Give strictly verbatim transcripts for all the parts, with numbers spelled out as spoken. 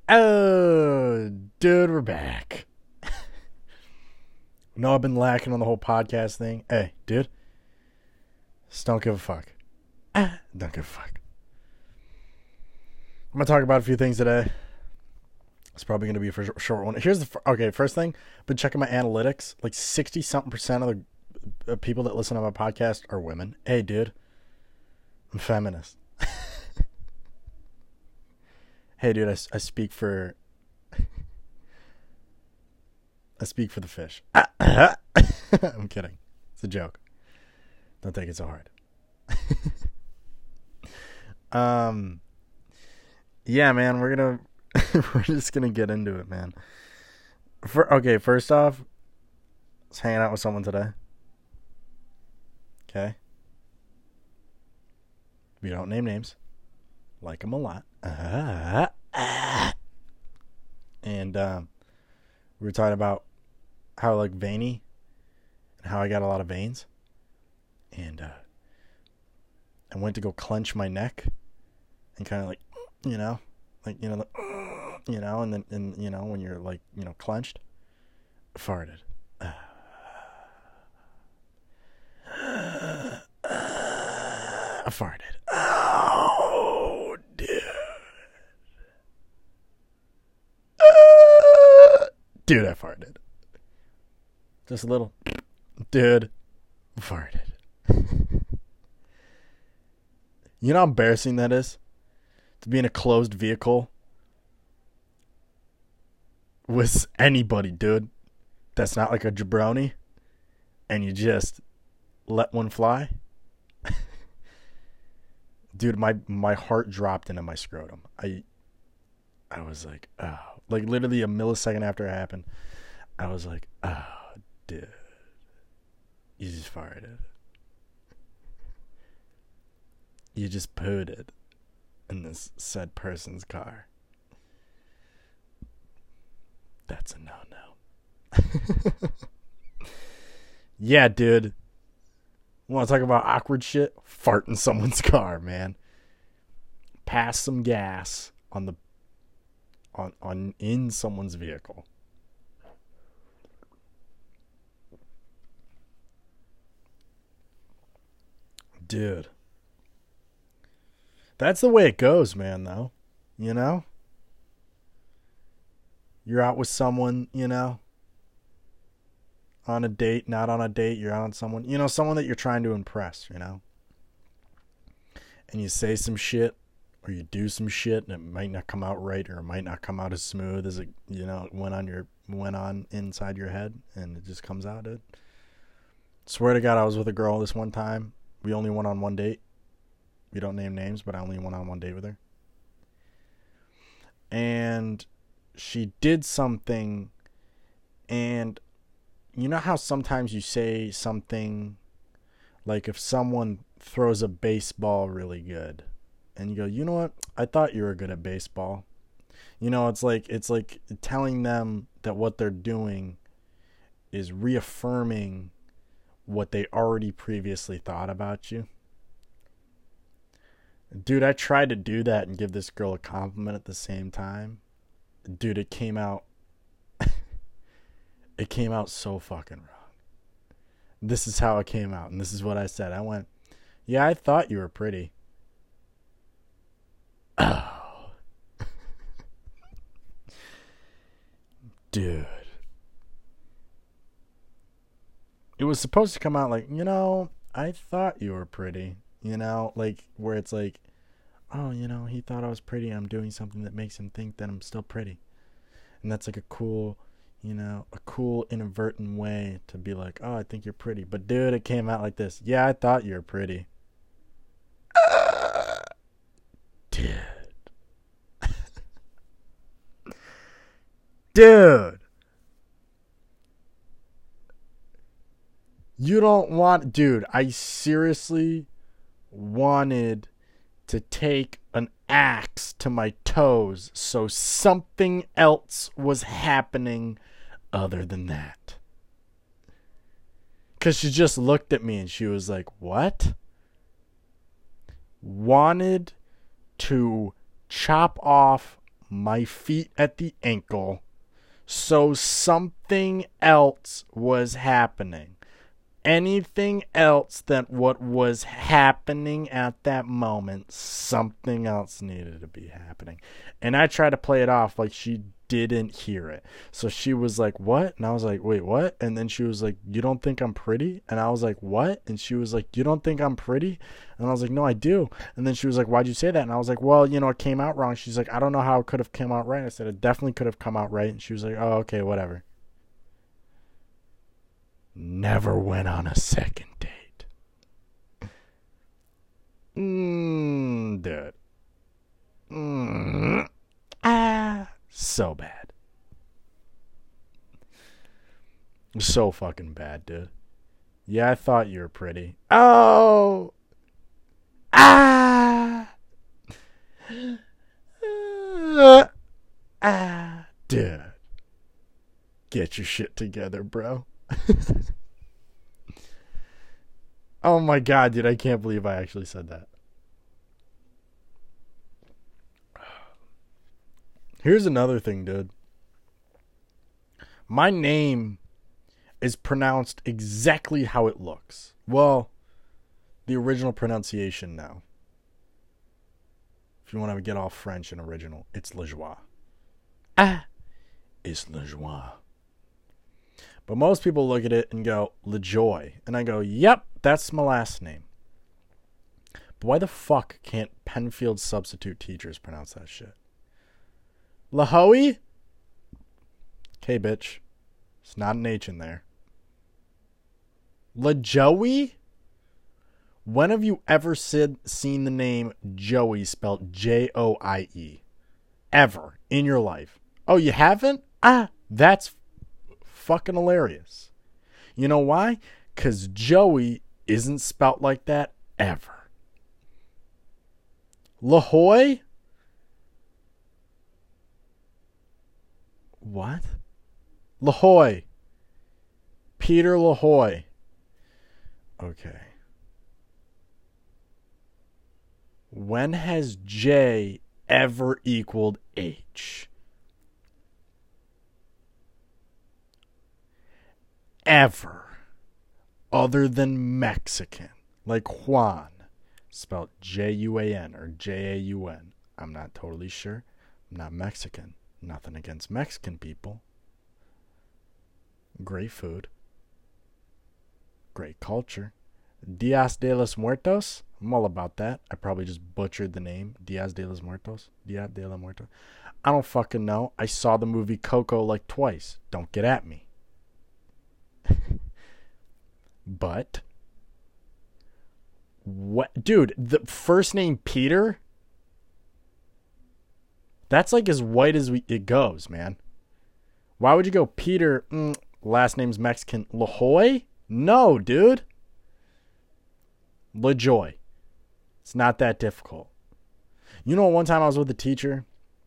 Oh, dude, we're back. No, I've been lacking on the whole podcast thing. Hey, dude, just don't give a fuck. Ah, don't give a fuck. I'm gonna talk about a few things today. It's probably gonna be a short one. Here's the okay. First thing, been checking my analytics. Like sixty something percent of the uh, people that listen to my podcast are women. Hey, dude, I'm feminist. Hey, dude, I, I speak for. I speak for the fish. I'm kidding. It's a joke. Don't take it so hard. um, yeah, man, we're gonna we're just gonna get into it, man. For okay, first off, I was hanging out with someone today. Okay, we don't name names. Like them a lot. Uh, uh, and um, we were talking about how like veiny and how I got a lot of veins. And uh, I went to go clench my neck and kind of like, you know, like, you know, like, you know, and then, and you know, when you're like, you know, clenched, farted. Uh, I farted. Oh, dude. Uh, dude, I farted. Just a little. Dude, farted. You know how embarrassing that is? To be in a closed vehicle with anybody, dude. That's not like a jabroni. And you just let one fly. Dude, my, my heart dropped into my scrotum. I I was like, oh. Like literally a millisecond after it happened, I was like, oh, dude. You just farted. You just pooted in this said person's car. That's a no-no. Yeah, dude. Want to talk about awkward shit? Fart in someone's car, man. Pass some gas on the on on in someone's vehicle. Dude. That's the way it goes, man, though. You know? You're out with someone, you know? On a date, not on a date, you're out with someone, you know, someone that you're trying to impress, you know? And you say some shit, or you do some shit, and it might not come out right, or it might not come out as smooth as it, you know, went on your, went on inside your head, and it just comes out, dude. Swear to God, I was with a girl this one time. We only went on one date. We don't name names, but I only went on one date with her. And she did something, and you know how sometimes you say something, like if someone throws a baseball really good, and you go, you know what? I thought you were good at baseball. You know, it's like it's like telling them that what they're doing is reaffirming what they already previously thought about you. Dude, I tried to do that and give this girl a compliment at the same time. Dude, it came out it came out so fucking wrong. This is how it came out, and this is what I said. I went, yeah, I thought you were pretty. Oh. Dude. It was supposed to come out like, you know, I thought you were pretty. You know, like where it's like, oh, you know, he thought I was pretty. I'm doing something that makes him think that I'm still pretty. And that's like a cool, you know, a cool inadvertent way to be like, oh, I think you're pretty. But dude, it came out like this. Yeah, I thought you were pretty. Uh, dude. Dude. You don't want, dude, I seriously wanted to take an axe to my toes so something else was happening other than that. Because she just looked at me and she was like, what? Wanted to chop off my feet at the ankle. So something else was happening. Anything else than what was happening at that moment, something else needed to be happening. And I tried to play it off like she didn't hear it. So she was like, what? And I was like, wait, what? And then she was like, you don't think I'm pretty? And I was like, what? And she was like, you don't think I'm pretty? And I was like, no, I do. And then she was like, why'd you say that? And I was like, well, you know, it came out wrong. She's like, I don't know how it could have come out right. I said, it definitely could have come out right. And she was like, oh, okay, whatever. Never went on a second date. Mmm, dude. Mmm. Ah, so bad. So fucking bad, dude. Yeah, I thought you were pretty. Oh. Ah. Ah. Ah. Dude. Get your shit together, bro. Oh my god, dude, I can't believe I actually said that. Here's another thing, dude. My name is pronounced exactly how it looks. Well, the original pronunciation now. If you want to get all French and original, it's LeJoie. Ah, it's LeJoie. But most people look at it and go, LeJoy. And I go, yep, that's my last name. But why the fuck can't Penfield substitute teachers pronounce that shit? LaHoe? Okay, bitch. It's not an H in there. LaJoey? When have you ever said, seen the name Joey spelled J O I E? Ever in your life? Oh, you haven't? Ah, that's fucking hilarious. You know why? Because Joey isn't spelt like that ever. LaHoy? What? LaHoy. Peter LaHoy. Okay. When has J ever equaled H? Ever. Other than Mexican. Like Juan. Spelled J U A N or J A U N. I'm not totally sure. I'm not Mexican. Nothing against Mexican people. Great food. Great culture. Dias de los Muertos. I'm all about that. I probably just butchered the name. Dias de los Muertos. Dia de los Muertos. I don't fucking know. I saw the movie Coco like twice. Don't get at me. But what, dude, the first name Peter, that's like as white as we, it goes, man. Why would you go Peter, mm, last name's Mexican, LaHoy? No, dude. LaJoy. It's not that difficult. You know, one time I was with a teacher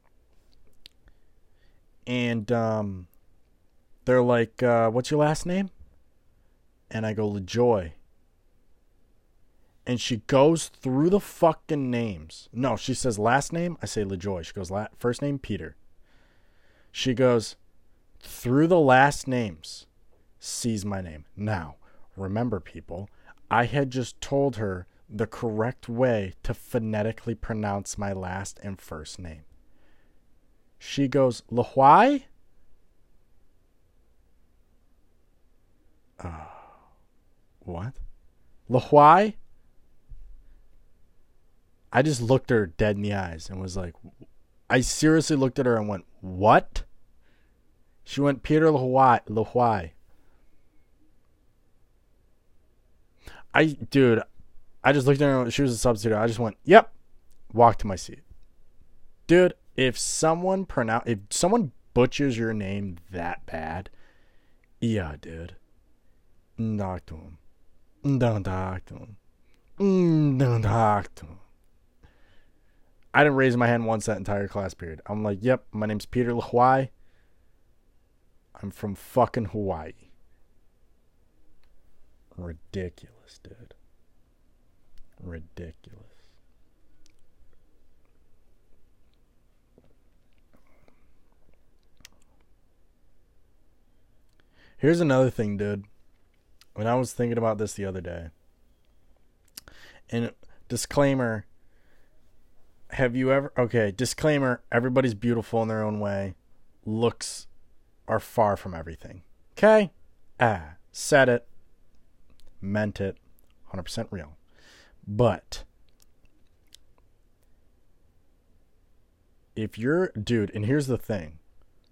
and um, they're like, uh, what's your last name? And I go, LaJoy. And she goes through the fucking names. No, she says last name. I say LaJoy. She goes, La- first name, Peter. She goes through the last names, sees my name. Now, remember, people, I had just told her the correct way to phonetically pronounce my last and first name. She goes, LaHoy? Uh, what? LaHoy? I just looked her dead in the eyes and was like, I seriously looked at her and went, what? She went, Peter LaHoy. LaHoy. I, dude, I just looked at her. She was a substitute. I just went, yep. Walked to my seat. Dude, if someone pronounce, if someone butchers your name that bad, yeah, dude. Talk to him. Don't talk to him. Don't talk to him. I didn't raise my hand once that entire class period. I'm like, yep, my name's Peter LaHoy. I'm from fucking Hawaii. Ridiculous, dude. Ridiculous. Here's another thing, dude. When I was thinking about this the other day, and disclaimer, have you ever, okay, disclaimer, everybody's beautiful in their own way. Looks are far from everything. Okay? Ah, said it. Meant it. one hundred percent real. But if you're, dude, and here's the thing.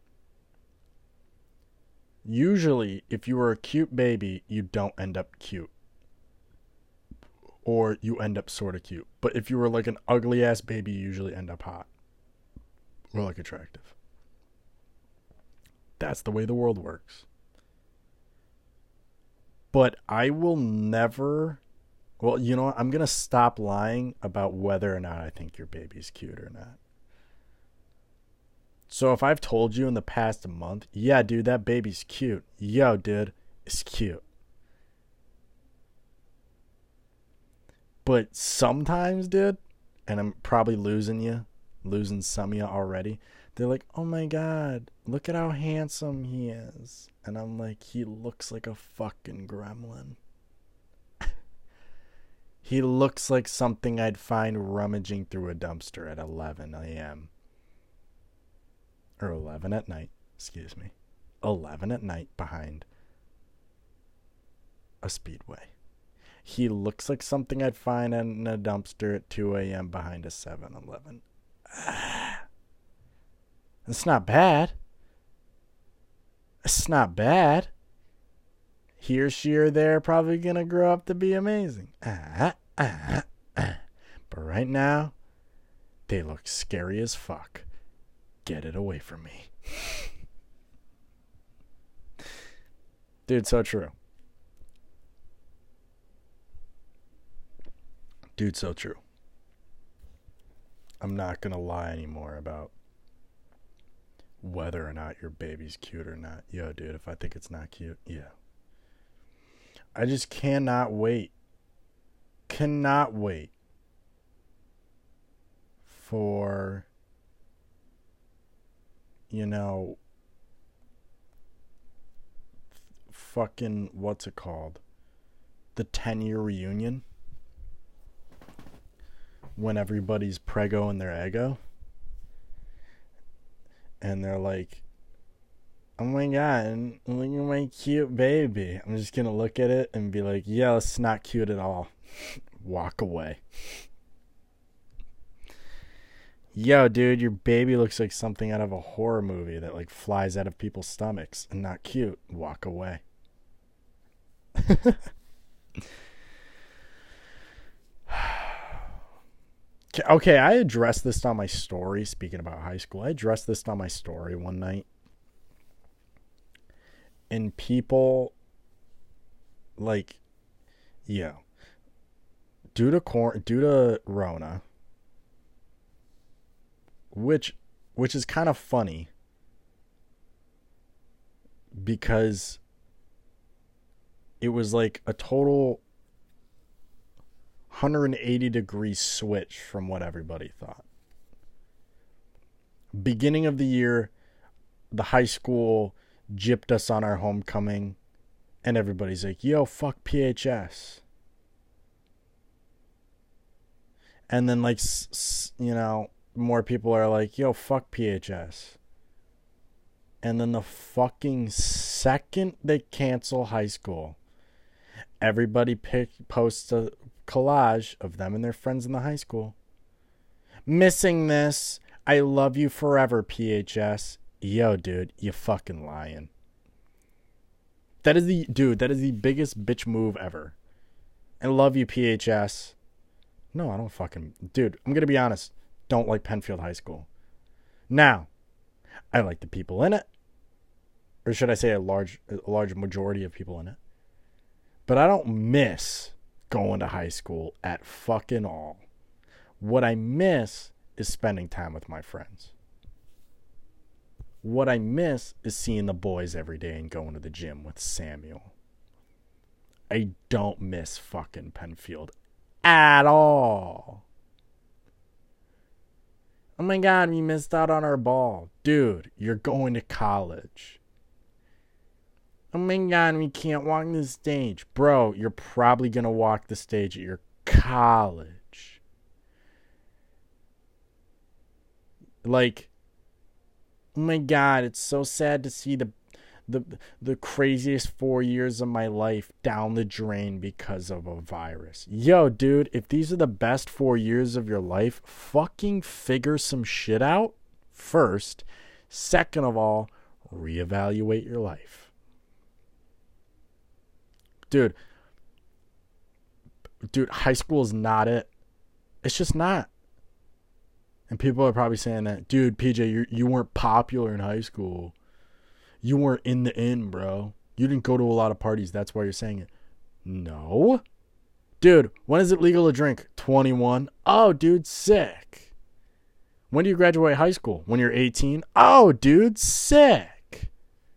Usually, if you were a cute baby, you don't end up cute. Or you end up sort of cute. But if you were like an ugly ass baby, you usually end up hot. Or like attractive. That's the way the world works. But I will never... Well, you know what? I'm going to stop lying about whether or not I think your baby's cute or not. So if I've told you in the past month, yeah, dude, that baby's cute. Yo, dude, it's cute. But sometimes, dude, and I'm probably losing you, losing some of you already, they're like, oh my God, look at how handsome he is. And I'm like, he looks like a fucking gremlin. He looks like something I'd find rummaging through a dumpster at eleven a.m. Or eleven at night, excuse me. eleven at night behind a Speedway. He looks like something I'd find in a dumpster at two a.m. behind a seven eleven. It's not bad. It's not bad. He or she or they're probably going to grow up to be amazing. Ah, ah, ah. But right now, they look scary as fuck. Get it away from me. Dude, so true. Dude, so true. I'm not going to lie anymore about whether or not your baby's cute or not. Yo, dude, if I think it's not cute, yeah. I just cannot wait. Cannot wait for, you know, fucking, what's it called? The ten-year reunion. When everybody's prego and their ego. And they're like, oh my God, look at my cute baby. I'm just going to look at it and be like, yeah, it's not cute at all. Walk away. Yo, dude, your baby looks like something out of a horror movie that like flies out of people's stomachs and not cute. Walk away. Okay, I addressed this on my story. Speaking about high school, I addressed this on my story one night. And people, like, yeah, due to cor- due to Rona, which which is kind of funny because it was like a total one hundred eighty degree switch from what everybody thought. Beginning of the year, the high school gypped us on our homecoming, and everybody's like, yo, fuck P H S. And then, like, you know, more people are like, yo, fuck P H S. And then the fucking second they cancel high school, everybody pick, posts a collage of them and their friends in the high school. Missing this. I love you forever, P H S. Yo, dude, you fucking lying. That is the, dude, that is the biggest bitch move ever. I love you, P H S. No, I don't fucking, dude, I'm going to be honest. Don't like Penfield High School. Now, I like the people in it. Or should I say a large, a large majority of people in it. But I don't miss going to high school at fucking all. What I miss is spending time with my friends. What I miss is seeing the boys every day and going to the gym with Samuel. I don't miss fucking Penfield at all. Oh my God, we missed out on our ball. Dude, you're going to college. Oh my God, we can't walk the stage. Bro, you're probably going to walk the stage at your college. Like, oh my God, it's so sad to see the the the craziest four years of my life down the drain because of a virus. Yo, dude, if these are the best four years of your life, fucking figure some shit out first. Second of all, reevaluate your life. Dude, dude, high school is not it. It's just not. And people are probably saying that, dude, P J, you you weren't popular in high school. You weren't in the inn, bro. You didn't go to a lot of parties. That's why you're saying it. No. Dude, when is it legal to drink? twenty-one. Oh, dude, sick. When do you graduate high school? When you're eighteen? Oh, dude, sick.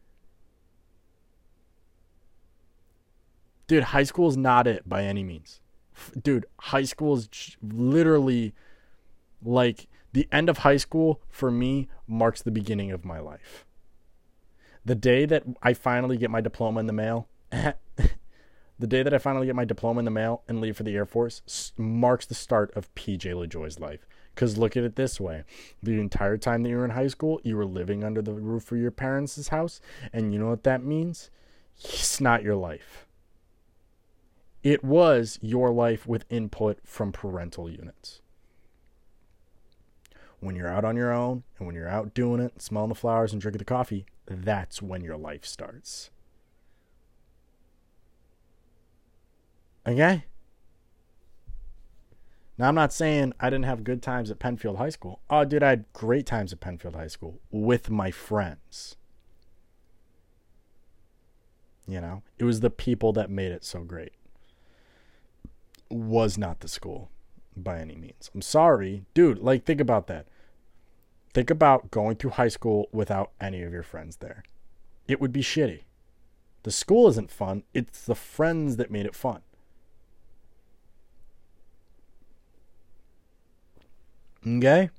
Dude, high school is not it by any means. Dude, high school is literally like the end of high school for me marks the beginning of my life. The day that I finally get my diploma in the mail, the day that I finally get my diploma in the mail and leave for the Air Force marks the start of P J LaJoy's life. Because look at it this way. The entire time that you were in high school, you were living under the roof of your parents' house. And you know what that means? It's not your life. It was your life with input from parental units. When you're out on your own and when you're out doing it, smelling the flowers and drinking the coffee, that's when your life starts. Okay? Now, I'm not saying I didn't have good times at Penfield High School. Oh, dude, I had great times at Penfield High School with my friends. You know, it was the people that made it so great. Was not the school by any means. I'm sorry. Dude, like, think about that. Think about going through high school without any of your friends there. It would be shitty. The school isn't fun. It's the friends that made it fun. Okay?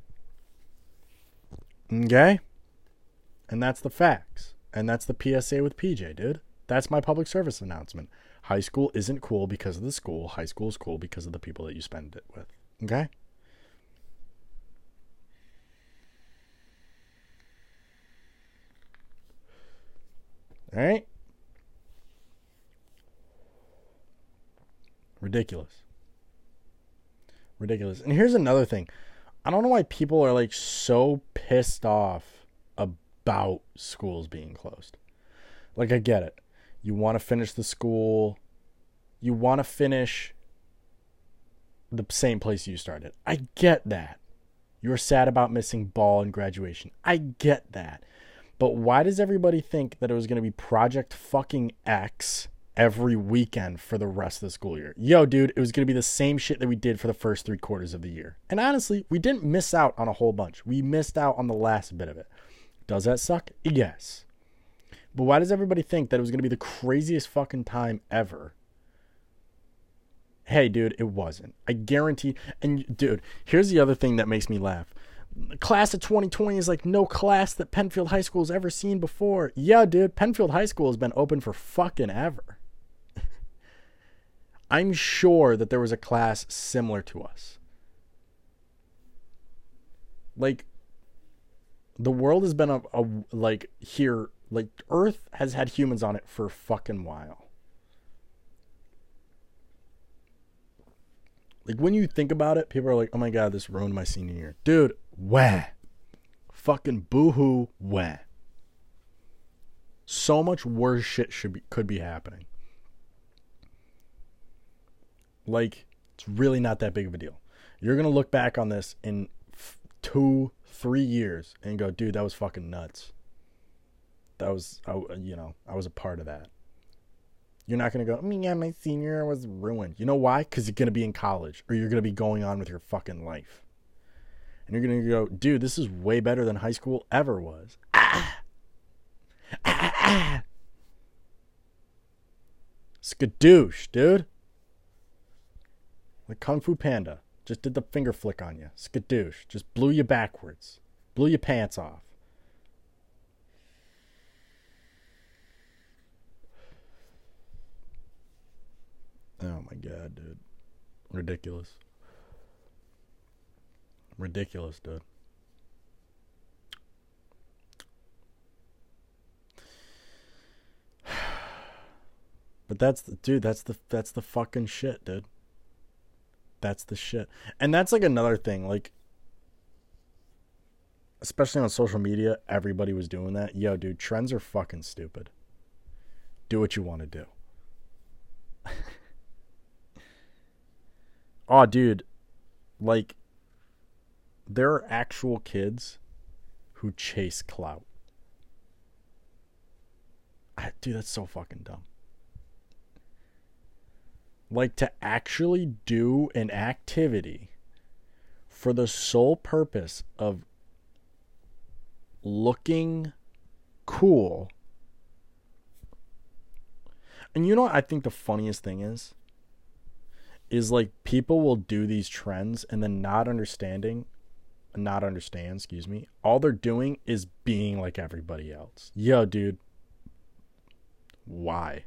Okay? And that's the facts. And that's the P S A with P J, dude. That's my public service announcement. High school isn't cool because of the school. High school is cool because of the people that you spend it with. Okay? All right? Ridiculous. Ridiculous. And here's another thing. I don't know why people are like so pissed off about schools being closed. Like, I get it. You want to finish the school. You want to finish the same place you started. I get that. You're sad about missing ball and graduation. I get that. But why does everybody think that it was going to be Project fucking X every weekend for the rest of the school year? Yo, dude, it was going to be the same shit that we did for the first three quarters of the year. And honestly, we didn't miss out on a whole bunch. We missed out on the last bit of it. Does that suck? Yes. But why does everybody think that it was going to be the craziest fucking time ever? Hey, dude, it wasn't. I guarantee. And, dude, here's the other thing that makes me laugh. The class of twenty twenty is like no class that Penfield High School has ever seen before. Yeah, dude, Penfield High School has been open for fucking ever. I'm sure that there was a class similar to us. Like, the world has been a, a like here, like Earth has had humans on it for a fucking while. Like, when you think about it, people are like, oh my God, this ruined my senior year. Dude, wah. Fucking boo-hoo, wah. So much worse shit should be, could be happening. Like, it's really not that big of a deal. You're going to look back on this in f- two, three years and go, dude, that was fucking nuts. That was, I, you know, I was a part of that. You're not going to go, oh yeah, my senior year was ruined. You know why? Because you're going to be in college or you're going to be going on with your fucking life. And you're going to go, dude, this is way better than high school ever was. Ah! Ah, ah. Skadoosh, dude. Like Kung Fu Panda. Just did the finger flick on you. Skadoosh. Just blew you backwards. Blew your pants off. Oh my god, dude. Ridiculous. Ridiculous, dude. But that's the dude, that's the that's the fucking shit, dude. That's the shit. And that's like another thing, like especially on social media, everybody was doing that. Yo, dude, trends are fucking stupid. Do what you want to do. Oh, dude, like there are actual kids who chase clout. I, dude, that's so fucking dumb. Like to actually do an activity for the sole purpose of looking cool. And you know what I think the funniest thing is? Is like people will do these trends and then not understanding, not understand, excuse me. All they're doing is being like everybody else. Yo, dude. Why?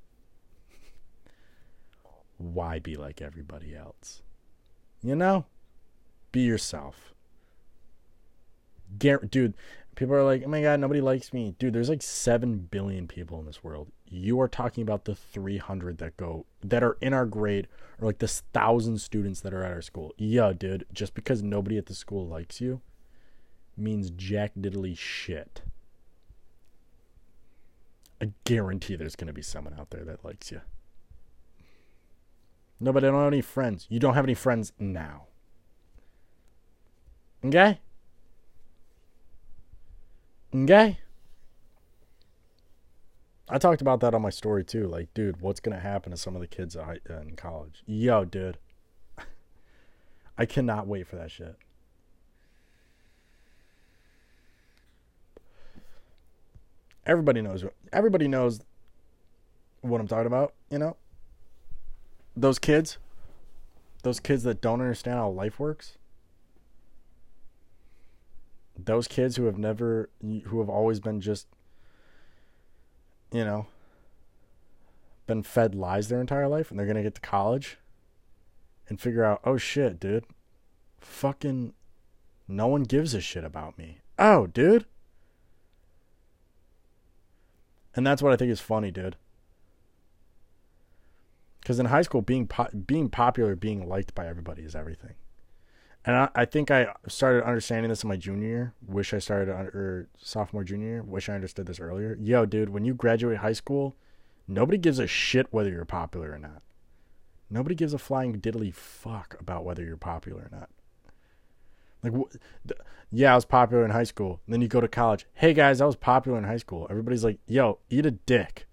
Why be like everybody else? You know? Be yourself. Gar- dude, people are like, oh my god, nobody likes me. Dude, there's like seven billion people in this world. You are talking about the three hundred that go, that are in our grade, or like this one thousand students that are at our school. Yeah, dude, just because nobody at the school likes you means jack diddly shit. I guarantee there's going to be someone out there that likes you. No, but I don't have any friends. You don't have any friends now. Okay? Okay? I talked about that on my story too. Like, dude, what's going to happen to some of the kids in college? Yo, dude. I cannot wait for that shit. Everybody knows. Everybody knows what I'm talking about, you know? Those kids. Those kids that don't understand how life works. Those kids who have never, who have always been just, you know, been fed lies their entire life, and they're going to get to college and figure out, oh shit, dude, fucking no one gives a shit about me. Oh, dude. And that's what I think is funny, dude. Because in high school, being po- being popular, being liked by everybody is everything. And I, I think I started understanding this in my junior year. Wish I started, or sophomore, junior year. Wish I understood this earlier. Yo, dude, when you graduate high school, nobody gives a shit whether you're popular or not. Nobody gives a flying diddly fuck about whether you're popular or not. Like, wh- yeah, I was popular in high school. And then you go to college. Hey, guys, I was popular in high school. Everybody's like, yo, eat a dick.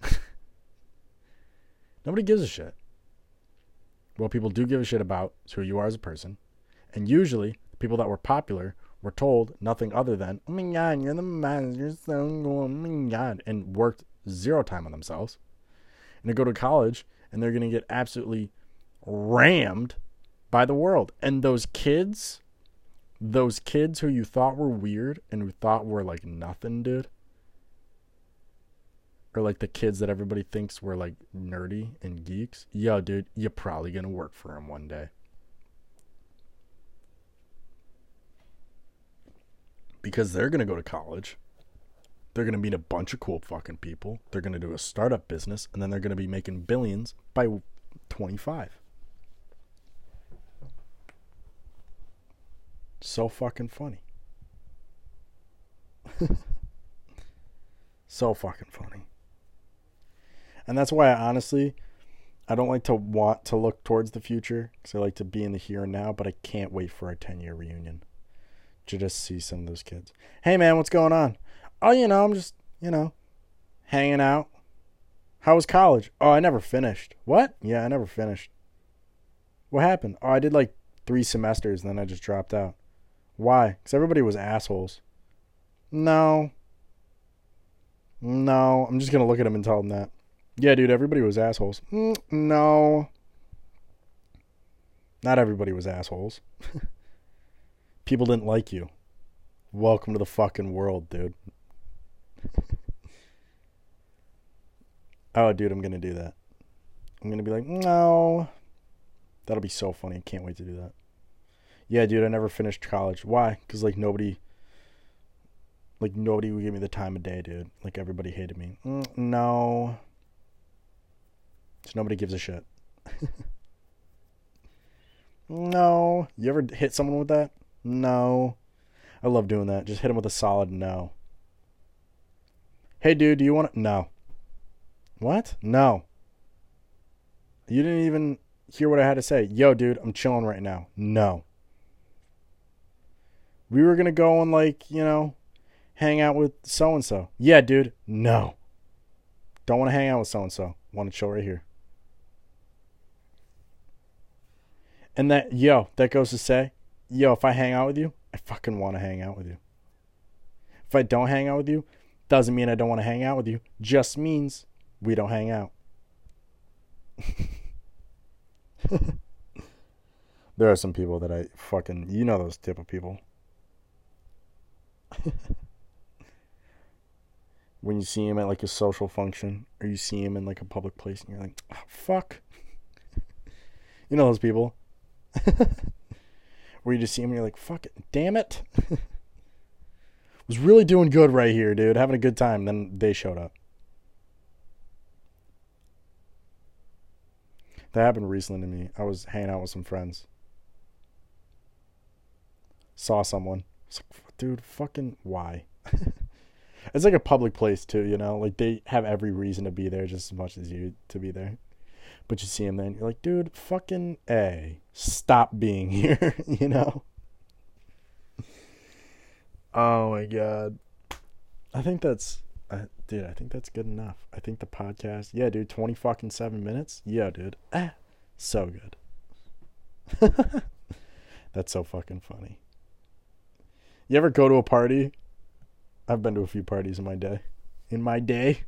Nobody gives a shit. What people do give a shit about is who you are as a person. And usually, the people that were popular were told nothing other than, oh my god, you're the man, you're so cool, oh my god, and worked zero time on themselves. And they go to college, and they're going to get absolutely rammed by the world. And those kids, those kids who you thought were weird and who thought were like nothing, dude, or like the kids that everybody thinks were like nerdy and geeks, yo, dude, you're probably going to work for them one day. Because they're going to go to college. They're going to meet a bunch of cool fucking people. They're going to do a startup business. And then they're going to be making billions by twenty-five. So fucking funny. So fucking funny. And that's why I honestly, I don't like to want to look towards the future. Because I like to be in the here and now. But I can't wait for our ten-year reunion. To just see some of those kids. Hey man, what's going on? Oh, you know, I'm just, you know, hanging out. How was college? Oh, I never finished. What? Yeah, I never finished. What happened? Oh, I did like three semesters and then I just dropped out. Why? Because everybody was assholes. No. No. I'm just going to look at them and tell them that. Yeah, dude, everybody was assholes. Mm, no. Not everybody was assholes. People didn't like you. Welcome to the fucking world, dude. Oh, dude, I'm going to do that. I'm going to be like, no. That'll be so funny. I can't wait to do that. Yeah, dude, I never finished college. Why? Because, like, nobody, like, nobody would give me the time of day, dude. Like, everybody hated me. Mm, no. So nobody gives a shit. No. You ever hit someone with that? No. I love doing that. Just hit them with a solid no. Hey, dude, do you want to? No. What? No. You didn't even hear what I had to say. Yo, dude, I'm chilling right now. No. We were going to go and, like, you know, hang out with so-and-so. Yeah, dude. No. Don't want to hang out with so-and-so. Want to chill right here. And that, yo, that goes to say, yo, if I hang out with you, I fucking want to hang out with you. If I don't hang out with you, doesn't mean I don't want to hang out with you. Just means we don't hang out. There are some people that I fucking, you know those type of people. When you see him at like a social function, or you see him in like a public place, and you're like, oh, fuck. You know those people. Where you just see him and you're like, fuck it, damn it. Was really doing good right here, dude. Having a good time. Then they showed up. That happened recently to me. I was hanging out with some friends. Saw someone. I was like, dude, fucking why? It's like a public place too, you know? Like they have every reason to be there just as much as you to be there. But you see him then, you're like, dude, fucking A. Stop being here, you know? Oh my God. I think that's, uh, dude, I think that's good enough. I think the podcast, yeah, dude, twenty fucking seven minutes. Yeah, dude. Ah, so good. That's so fucking funny. You ever go to a party? I've been to a few parties in my day. In my day.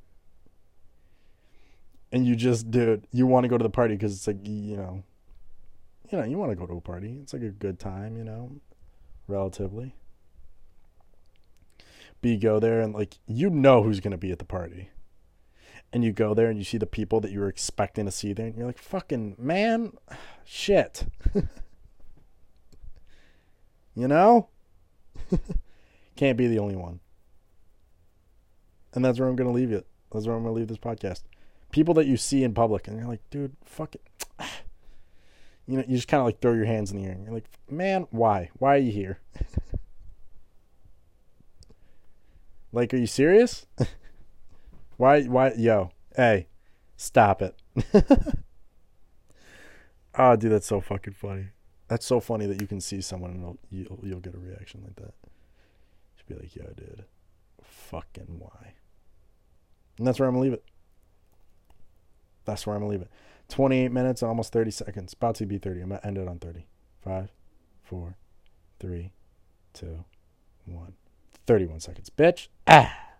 And you just, dude, you want to go to the party because it's like, you know, you know, you want to go to a party. It's like a good time, you know, relatively. But you go there and, like, you know who's going to be at the party. And you go there and you see the people that you were expecting to see there. And you're like, fucking, man, shit. You know? Can't be the only one. And that's where I'm going to leave it. That's where I'm going to leave this podcast. People that you see in public and you're like, dude, fuck it. You know, you just kind of like throw your hands in the air and you're like, man, why? Why are you here? Like, are you serious? Why, why, yo, hey, stop it. Oh, dude, that's so fucking funny. That's so funny that you can see someone and you'll, you'll, you'll get a reaction like that. Just be like, yo, dude, fucking why? And that's where I'm going to leave it. That's where I'm going to leave it. twenty-eight minutes, almost thirty seconds. About to be thirty. I'm going to end it on thirty. Five, four, three, two, one. thirty-one seconds. Bitch. Ah.